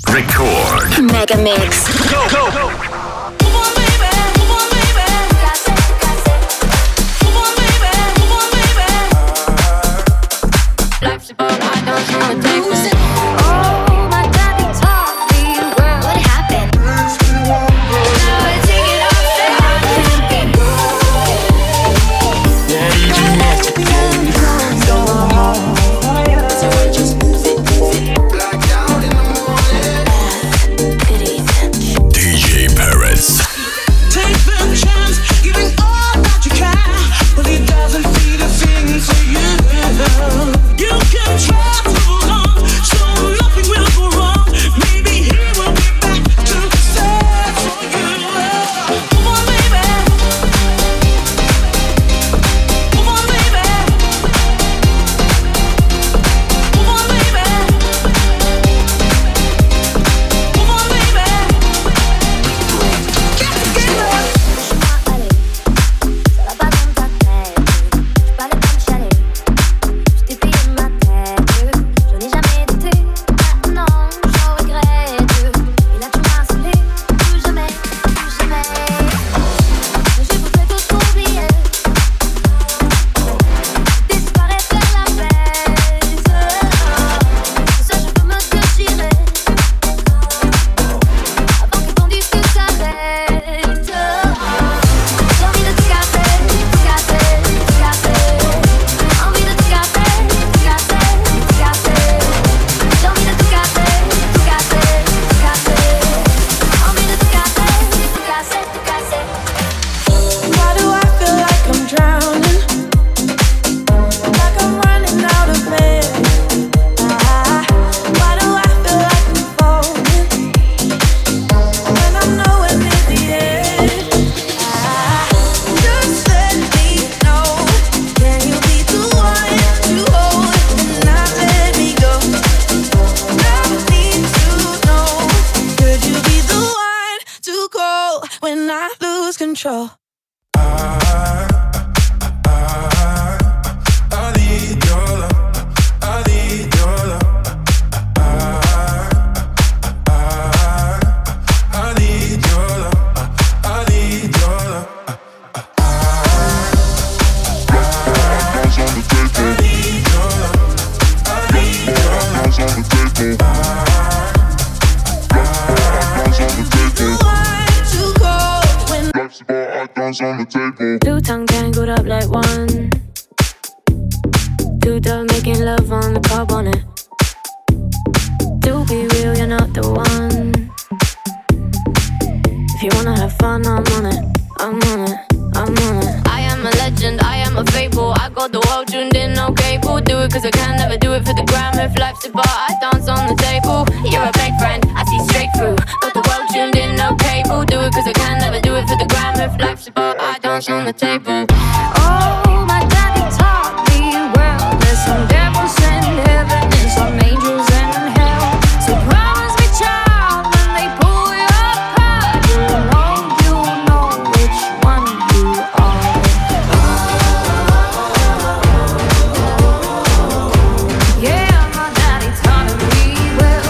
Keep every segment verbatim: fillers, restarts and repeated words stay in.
Record. Mega Mix. Go, go, go. Life's about I don't wanna take it. Oh, my daddy taught me well. What happened? Now I take it off, say I can't be ди джей Perez. Take the chance, giving all that you can, but it doesn't feel a thing to you. You can try to hold on, so nothing will go wrong. Maybe he will be back to say for you. Come on, baby. Come on, baby. Come on, baby. Come on, baby. Get together. When I lose control. Two tongue tangled up like one. Two dove making love on the cob on it. To be real, you're not the one. If you wanna have fun, I'm on it. I'm on it. I'm on it. I am a legend, I am a fable. I got the world tuned in, no cable. Do it cause I can, never do it for the gram. If life's a bar, I dance on the table. You're a fake friend, I see straight through. Got the world tuned in, no cable. Do it cause I can, never do it for the gram. If life's a bar, I dance on the table. Oh, my daddy taught me well. There's some devils in heaven and some angels in hell. So promise me, child, when they pull you apart, you know, you know which one you are. Yeah, my daddy taught me well.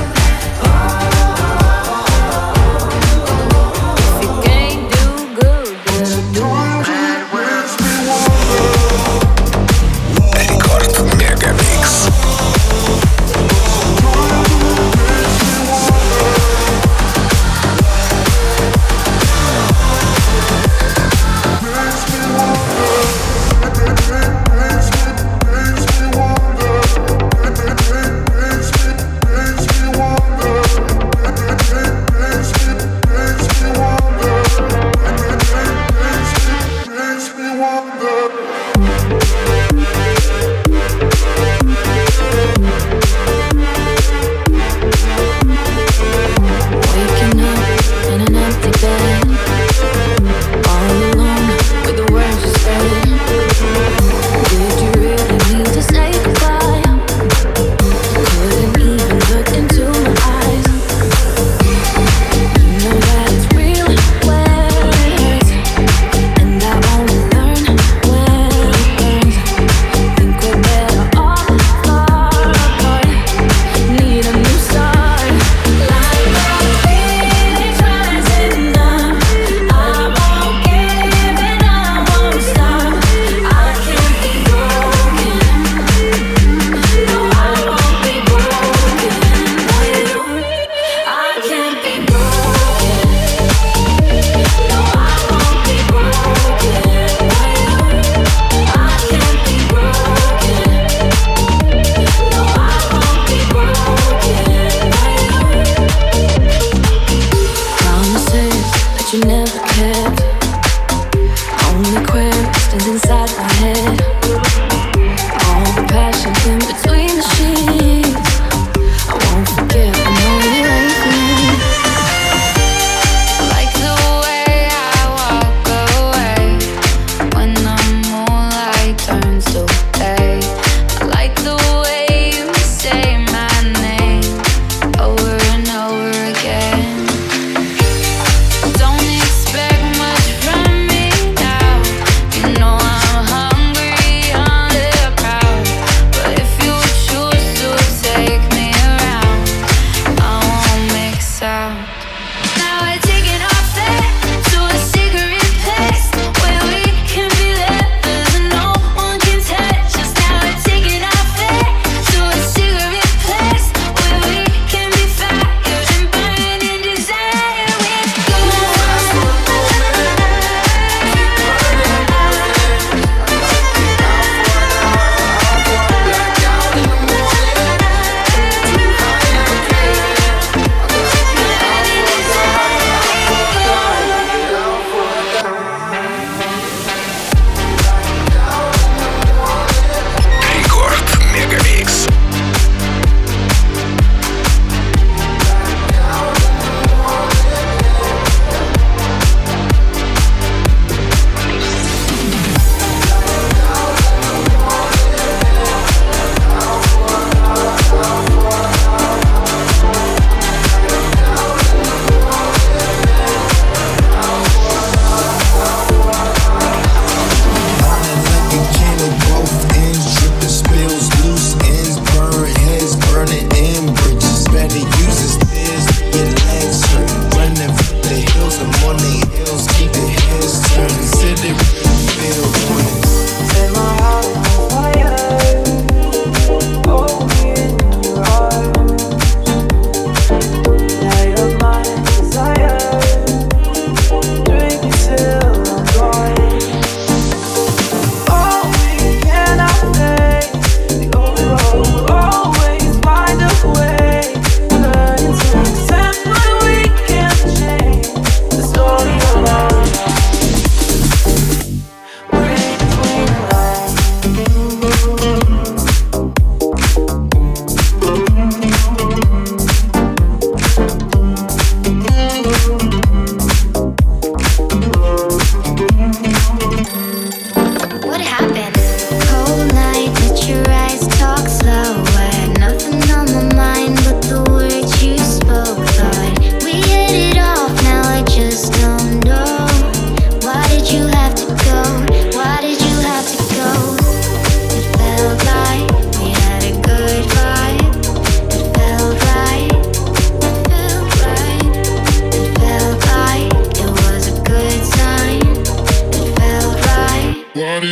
If you can't do good, better do bad.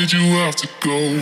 did you have to go?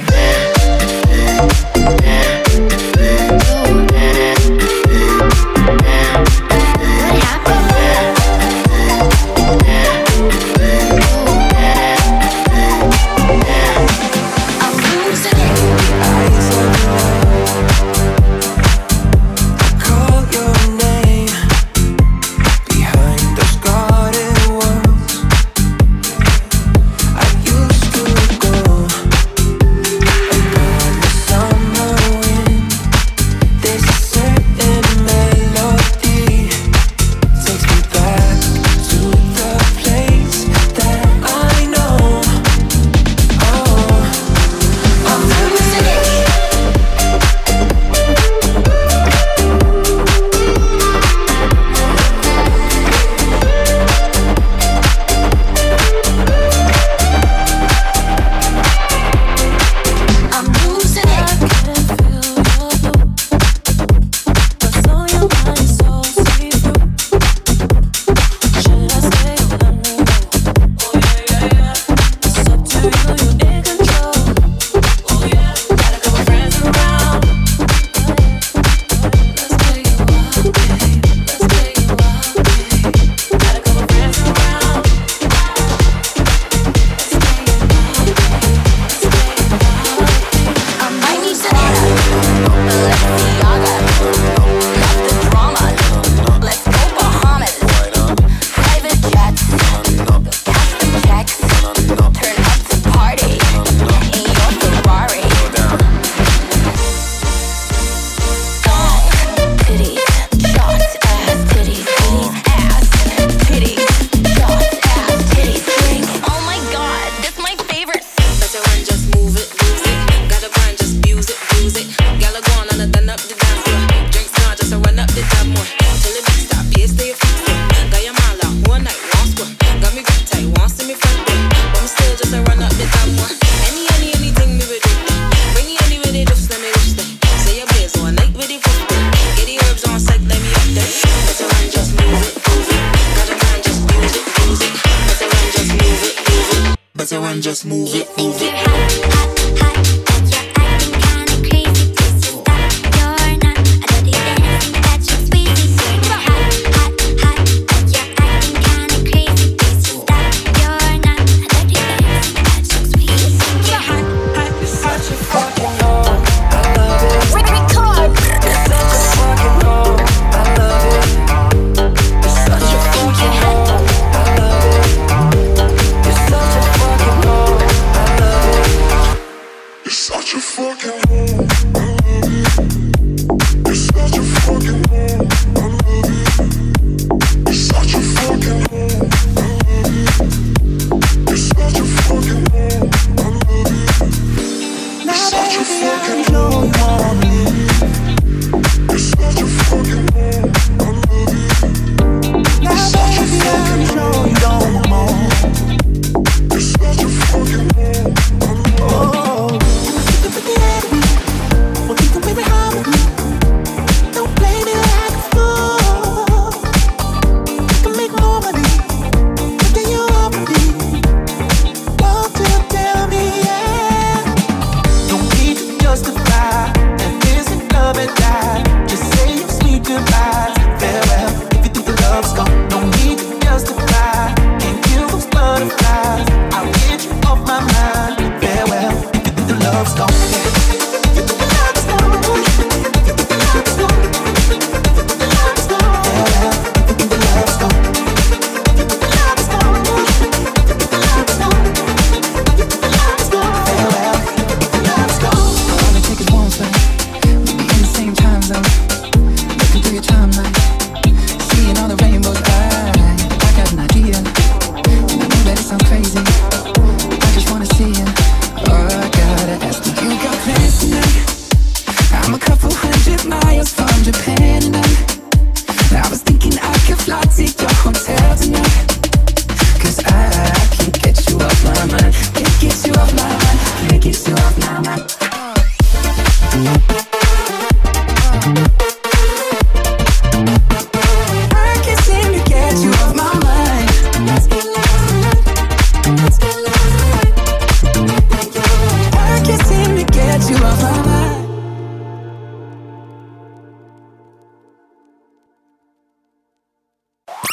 Just move it, move it.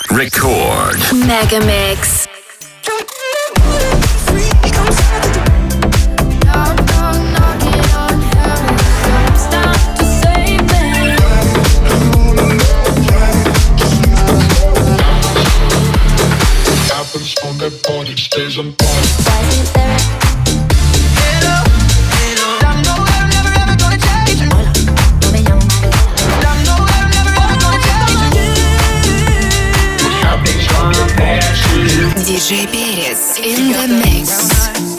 Record. Mega Mix. On that body stays on body. ди джей Perez in the mix.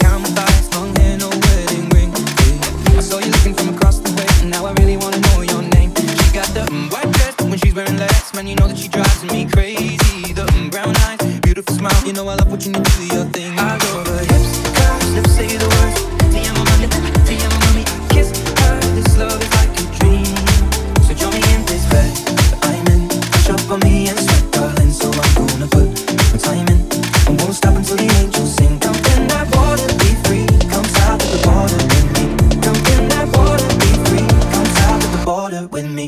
You know that she drives me crazy. The mm, brown eyes, beautiful smile. You know I love watching you do your thing. I love her hips, curves, lips say the words. Te amo mami, te amo mami. Kiss her, this love is like a dream. So join me in this bed that I'm in. Push up on me and sweat, darling. So I'm gonna put my time in. I won't stop until the angels sing. Come in that water, be free. Come south of the border with me. Come in that water, be free. Come south of the border with me.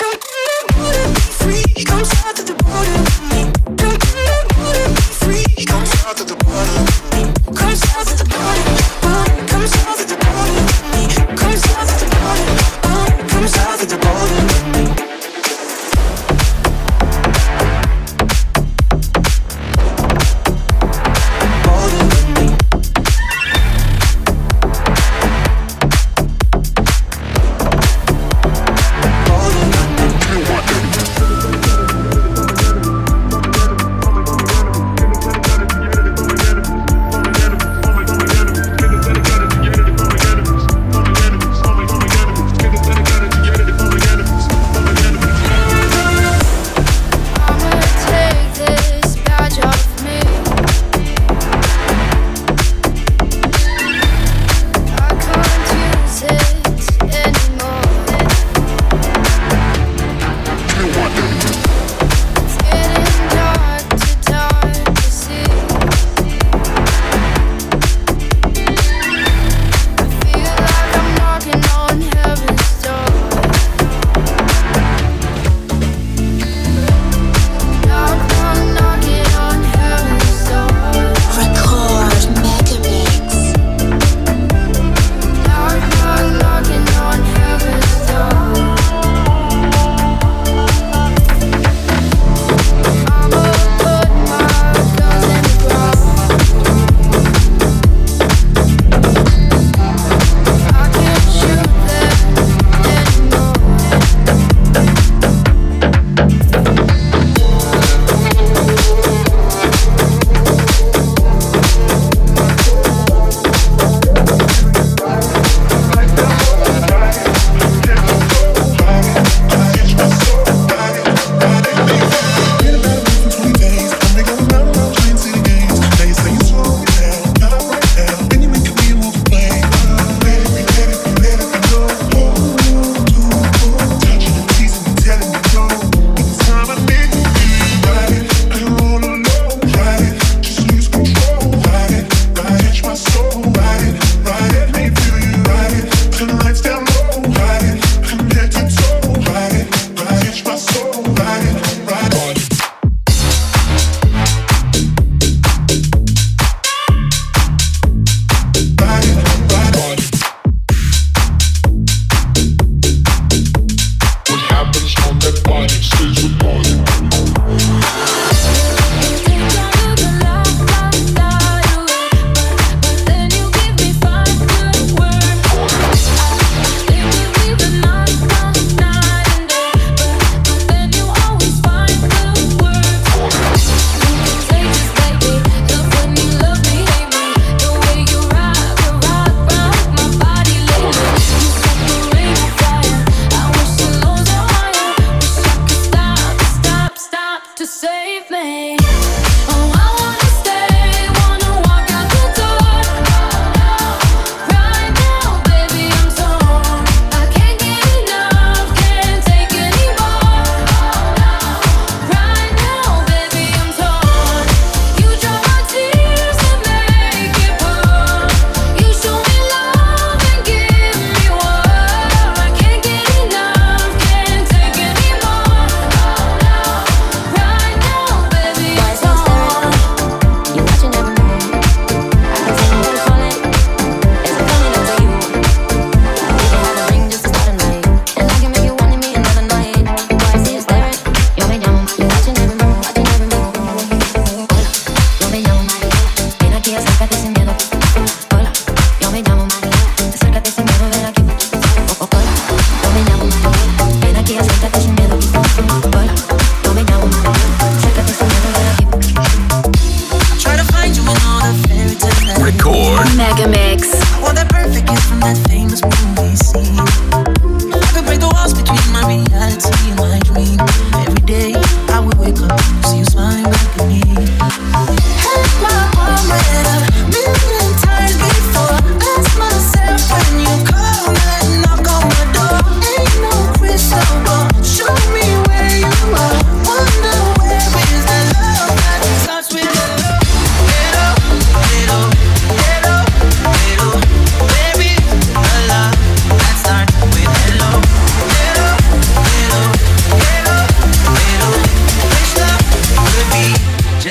Come south to the border with me. Come to the border, be free. Come south to the border with me. Come south to the border, border. Come south to the border with me. Come south to the border, border. Come south to the border with me. Border with me. Border with me.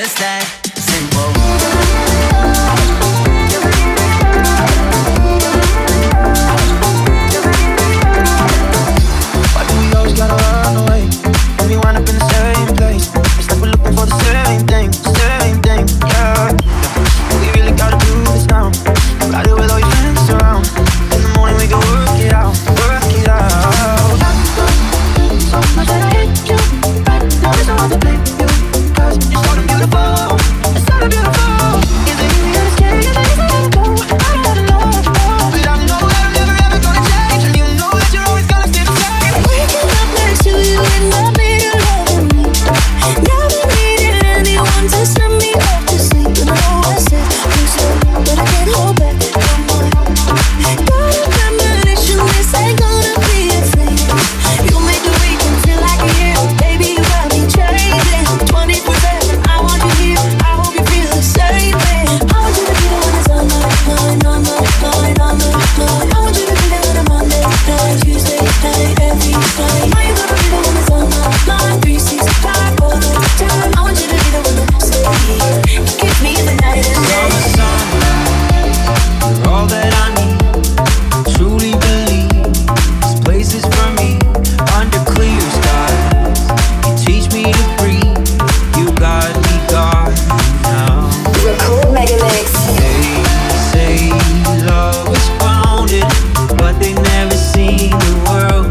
just that simple. Why do we always gotta run away? And we wind up in the same place. It's like we're looking for the same thing, same thing, yeah. We really gotta do this now. Ride it with all your friends around. In the morning we go work it out, work it out. So much that I hate you, but there is no one to blame you. Cause you're so damn beautiful, you're so damn beautiful. Is it easy to stay, is it easy to let it go? I gotta know, but I know that I'm never ever gonna change. And you know that you're always gonna stay the same. Waking up next to you in the middle of the night. Never needed anyone to send me off to sleep. And I know I said please don't, but I can't hold back no more. Got a premonition, this ain't gonna be a thing. You make the weekend feel like a year, baby. You got me changing twenty-four seven. I want you here, I hope you feel the same way. I want you to be the one that's on my mind, on my mind, on my mind. I want you to be there on a Monday night, Tuesday night, every night. Are you gonna be the one that's on my mind, three sixty-five all the time? I want you to be the one that say you give me the night and day. You're all that I need. Truly believe this place is for me. Under clear skies, you teach me to breathe. You got me gone now. Record Megamix. They say love is founded, but they never seen the world.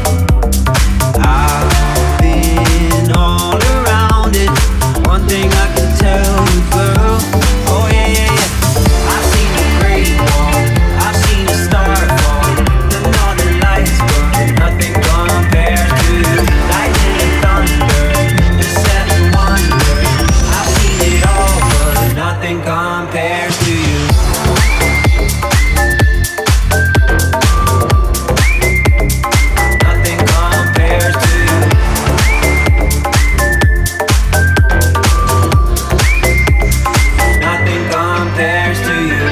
I've been all around it. One thing I can tell you, girl. Oh yeah, yeah, yeah. I've seen the great wall, I've seen the star fall, and all the lights burn. Nothing compares to lightning and thunder, the seven wonders. I've seen it all, but nothing compares to you. Nothing compares to you. Nothing compares to you.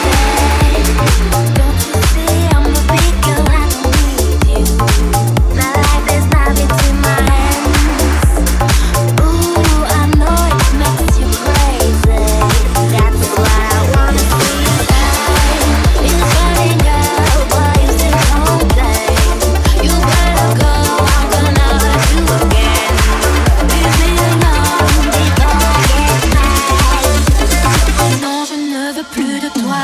Don't you see I'm a big girl, I don't need you. My life is now between my hands. Ooh, I know it makes you crazy. That's why I wanna see you shine. It's funny, girl, but you still don't play. You better go, I'm gonna hurt you again. Leave me alone before I get mad. Non, je ne veux plus de toi.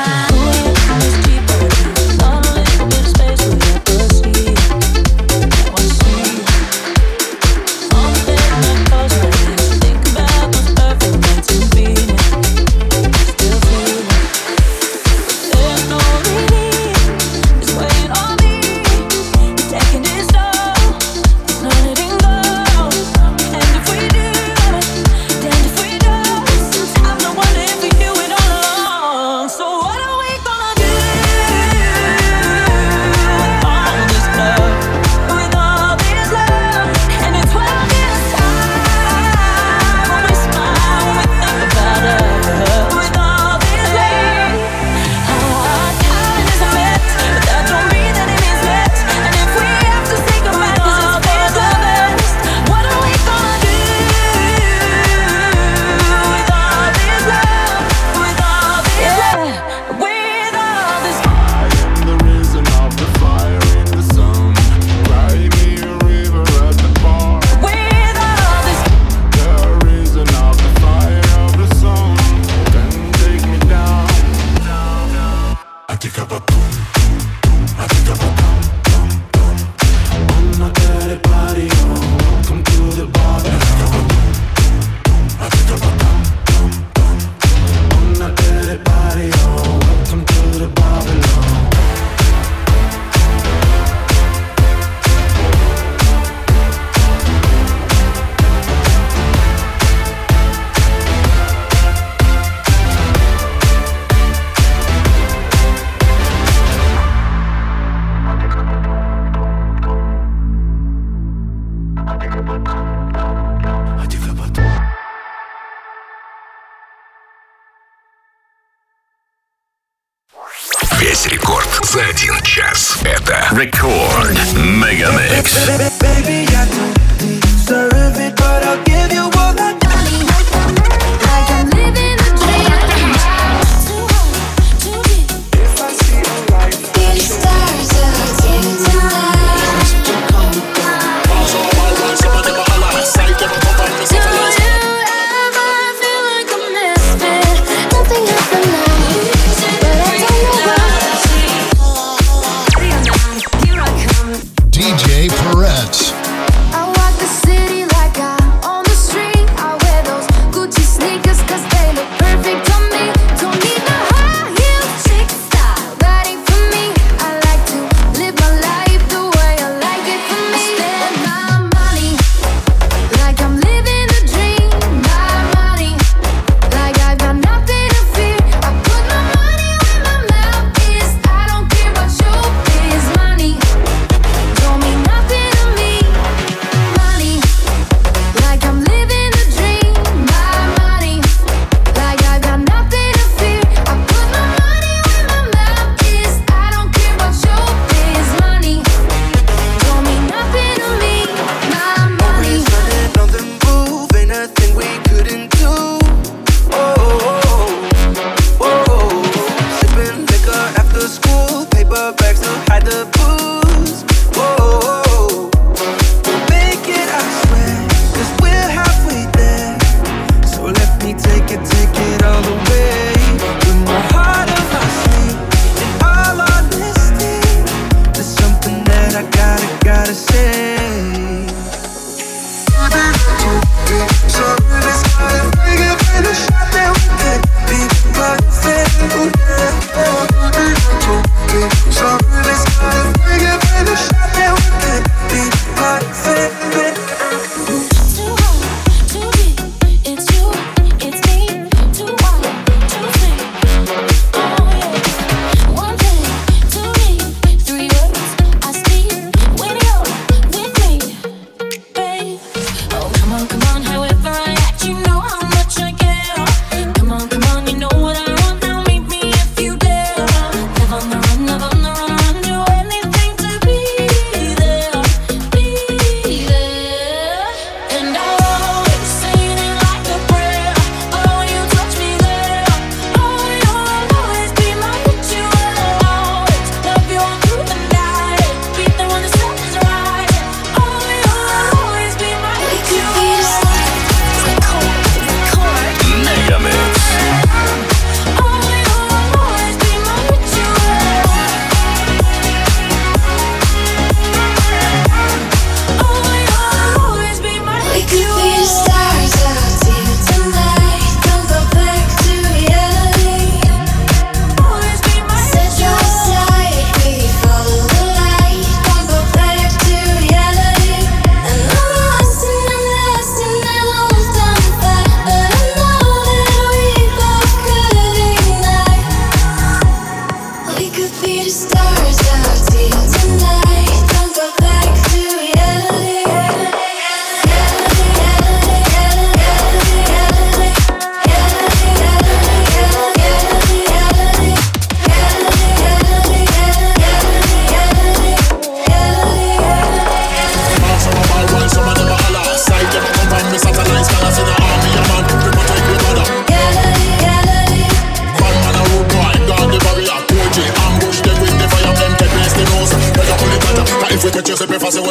Весь рекорд за один час. Это Record Megamix. Baby, I don't deserve it, but I'll give you all I got.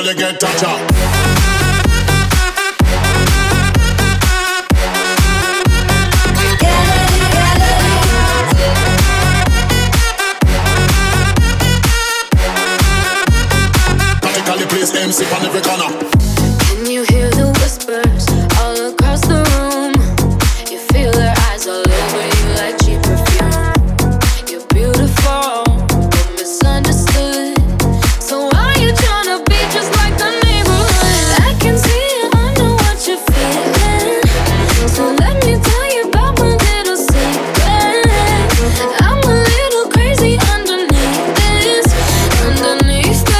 Everybody get touch up. M C on every corner. Can you hear the whispers all across the room? You feel their eyes all over you like cheap perfume. You're beautiful, but misunderstood. So why are you trying to be just like the neighborhood? I can see it, I know what you're feeling. So let me tell you about my little secret. I'm a little crazy underneath this, underneath this.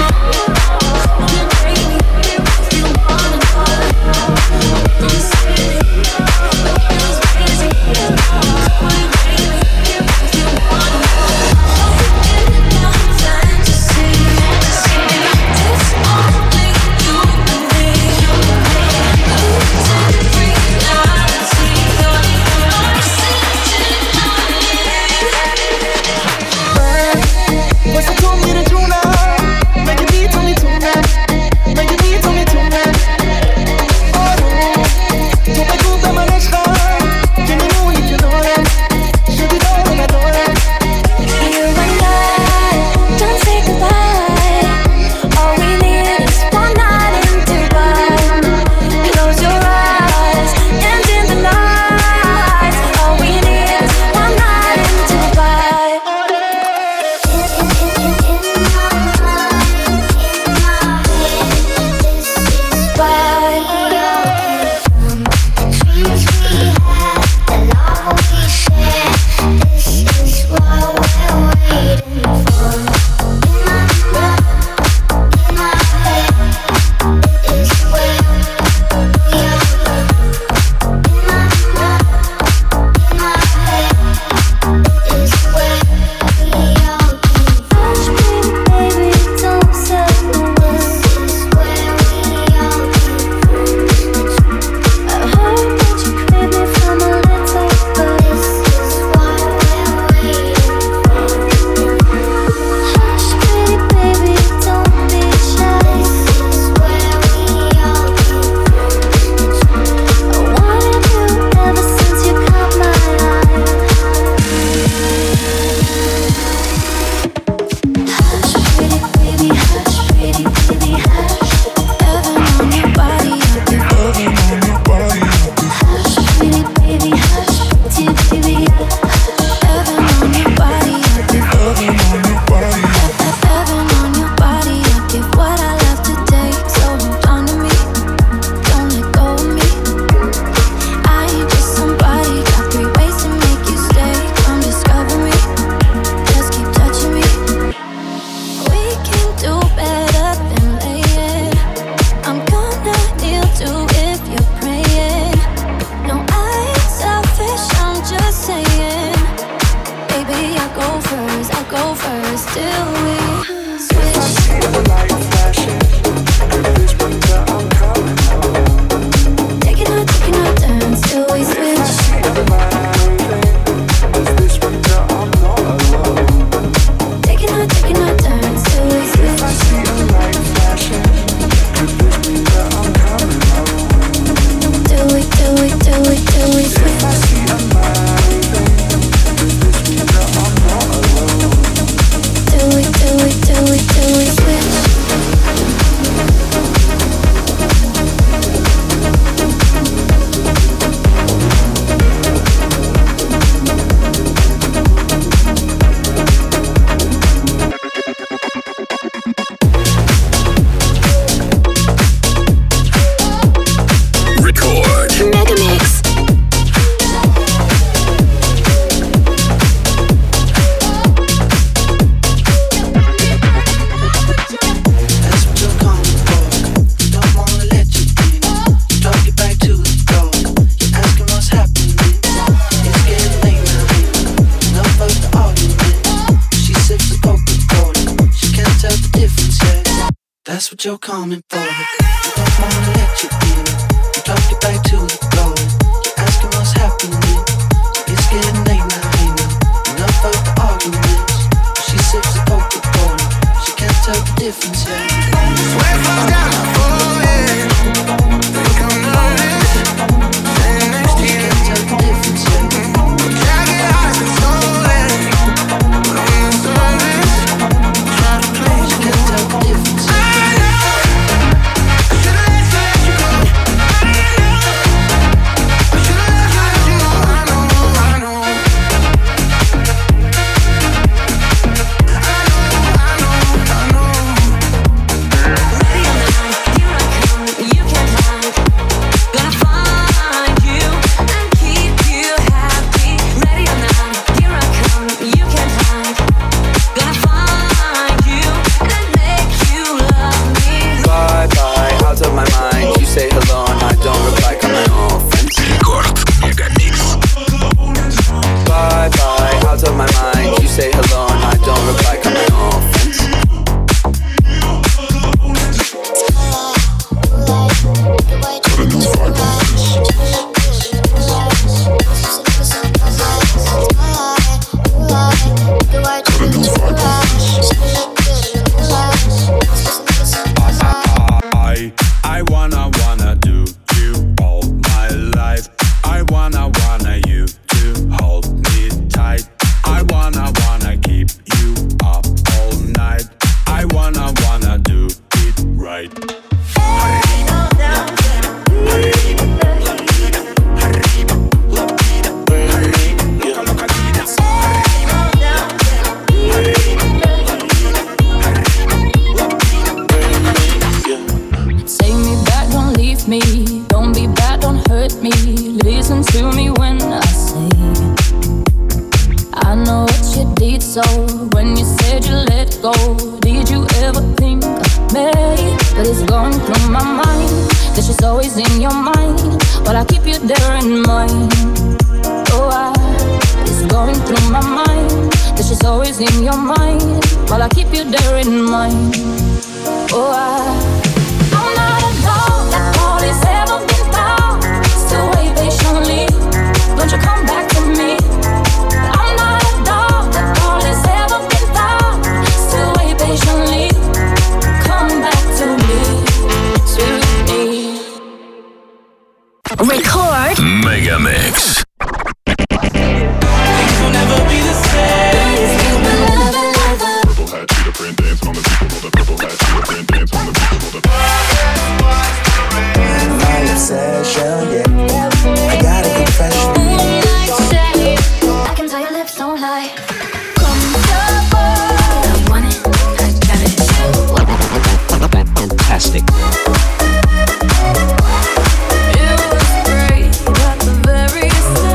Say still we switch. I see the light flashing, and this winter I'm coming home. Taking our, taking our turn, still we switch. I see the light flashing, this winter I'm not alone. Taking our, taking our turn, still we switch. I see the light flashing, and this winter I'm coming home. Till we, till we, till we, till we switch. I see the light flashing, this winter I'm not alone. Till we, till we, till we, till we switch. Record. Mega Mix. That's what you're calling for. Don't wanna let you in. Drop you back to the door. You're asking what's happening. It's getting late now. Enough of the argument. She sips the Coca-Cola. She can't tell the difference yet. That's what you're coming for. Don't wanna let you in. Drop you back to the door. You're asking what's happening. It's getting late now. Enough of the arguments. She sips the Coca-Cola. She can't tell the difference yet. Swear falls down my forehead. Think I'm nervous. Standing next to She you. can't tell the difference yet. Jagged eyes and stolen. But on the surface, try to play. She can't tell the difference yet. I know. I should've let you go. I know. I should've let you go. I know. I know. Bye bye, out of my mind. You say hello and I don't reply, got my own friends. Рекорд Мегамикс. Bye bye, out of my mind. You say hello and I don't reply, got my own friends. I, I wanna, wanna do you all my life. I wanna, wanna you to hold me tight. I wanna, wanna keep you up all night. I wanna, wanna do it right. Take me back, don't leave me. Don't be bad, don't hurt me. Listen to me when I say I know what you did, so when you said you let go, did you ever think of me? But it's going through my mind that she's always in your mind, but I keep you there in mind. Oh, I, it's going through my mind that she's always in your mind, but I keep you there in mind. Oh, I I'm not a dog that all is ever been found. Still wait patiently. Don't you come back to me? I'm not a dog that all is ever been found. Still wait patiently. Come back to me, to me. Record. Мегамикс. Things will never be the same. Purple hat, cheetah print, dancing on the people. Roll the purple hat, cheetah print, dancing on the people. Roll the My obsession, yeah. I got a confession. I can tell your lips don't lie. Comfortable. I want it, I got it. Fantastic. It was great at the very start.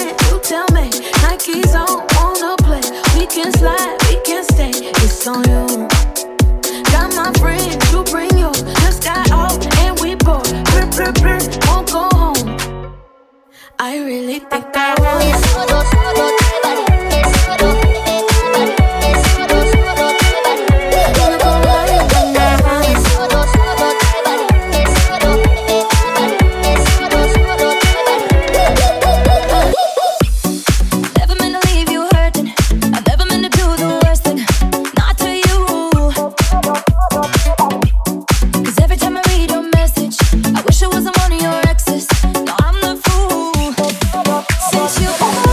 man, you tell me. Nike's on, wanna play. We can slide, we can stay. It's on you. Got my friends, you bring yours. Just got off and we bored. Brr, brr, brr, won't go home. I really think I want it. You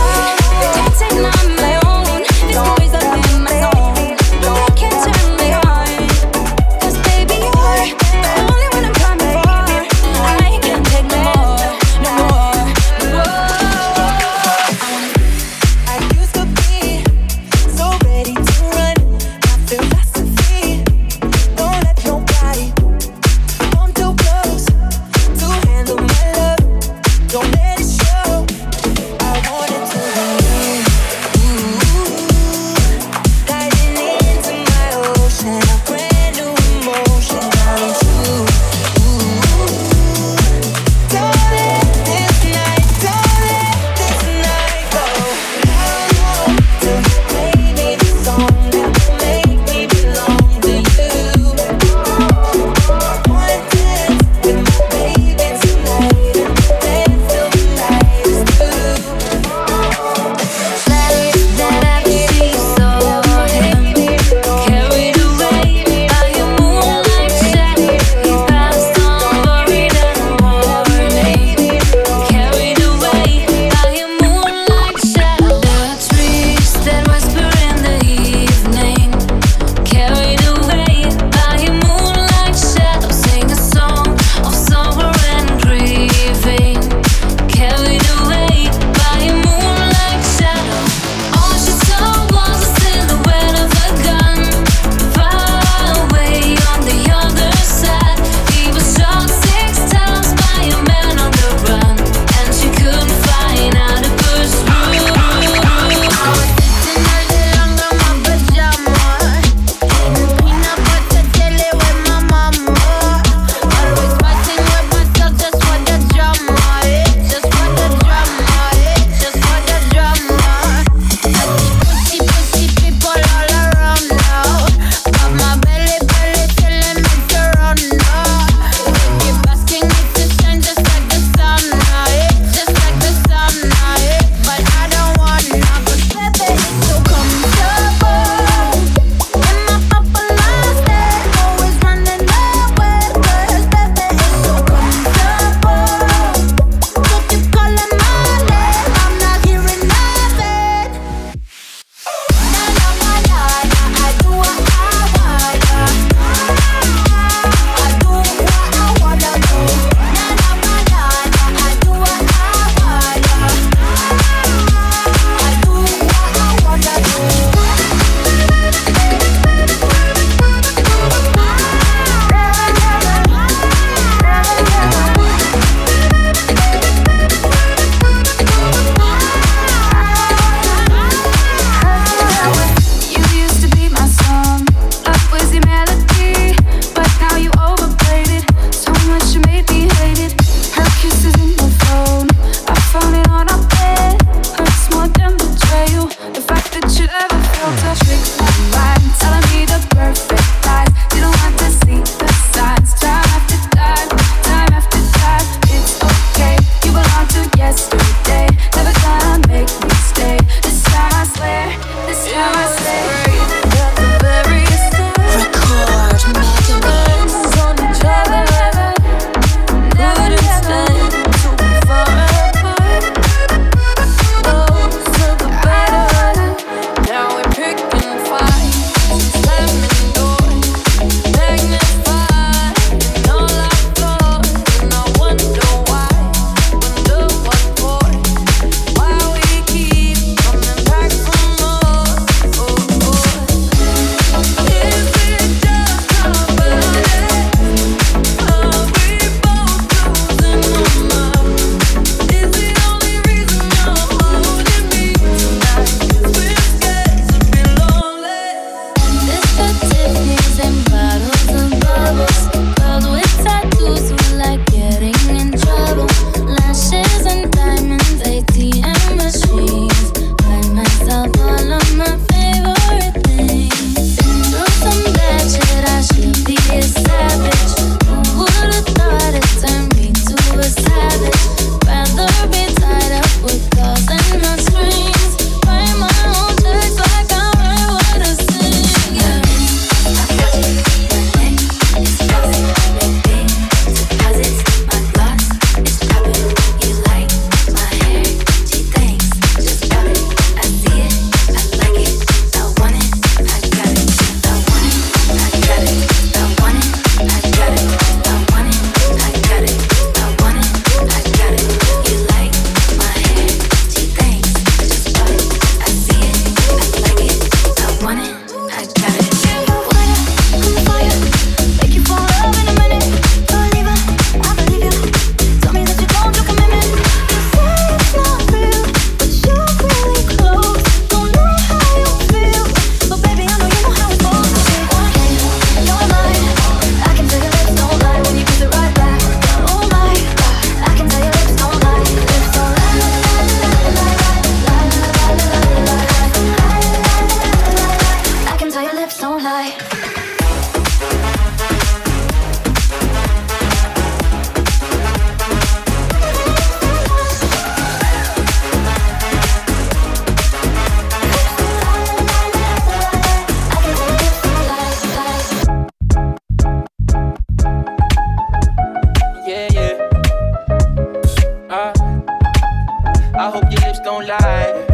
right.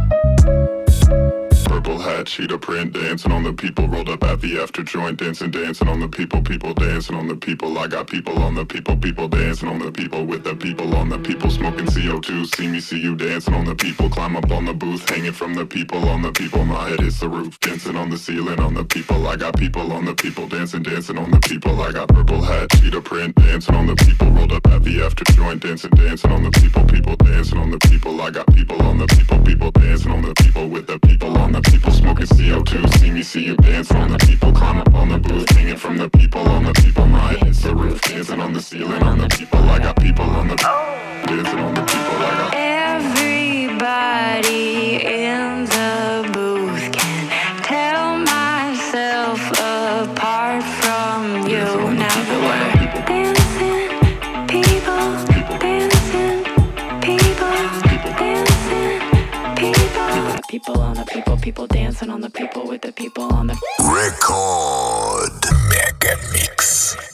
Purple hat, cheetah print, dancing on the people. Rolled up at the after joint, dancing, dancing on the people. People dancing on the people. I got people on the people. People dancing on the people with the people on the people. Smoking C O two, see me, see you dancing on the people. Climb up on the booth, hanging from the people on the people. My head hits the roof, dancing on the ceiling on the people. I got people on the people, dancing, dancing on the people. I got purple hat, cheetah print, dancing on the people. Rolled up at the after joint, dancing, dancing on the people. People dancing on the people. I got people on the people. People dancing on the people with the people on the people. People smoking C O two, see me, see you dancing on the people. Climb up on the booth, hanging from the people on the people. My head hits the roof, dancing on the ceiling on the people. I got people on the dancing on the people. I got everybody in the booth can tell myself apart from you. Now that we're dancing, people, dancing, people, dancing, people. People on the people, people dancing on the people with the people on the Record Mega Mix.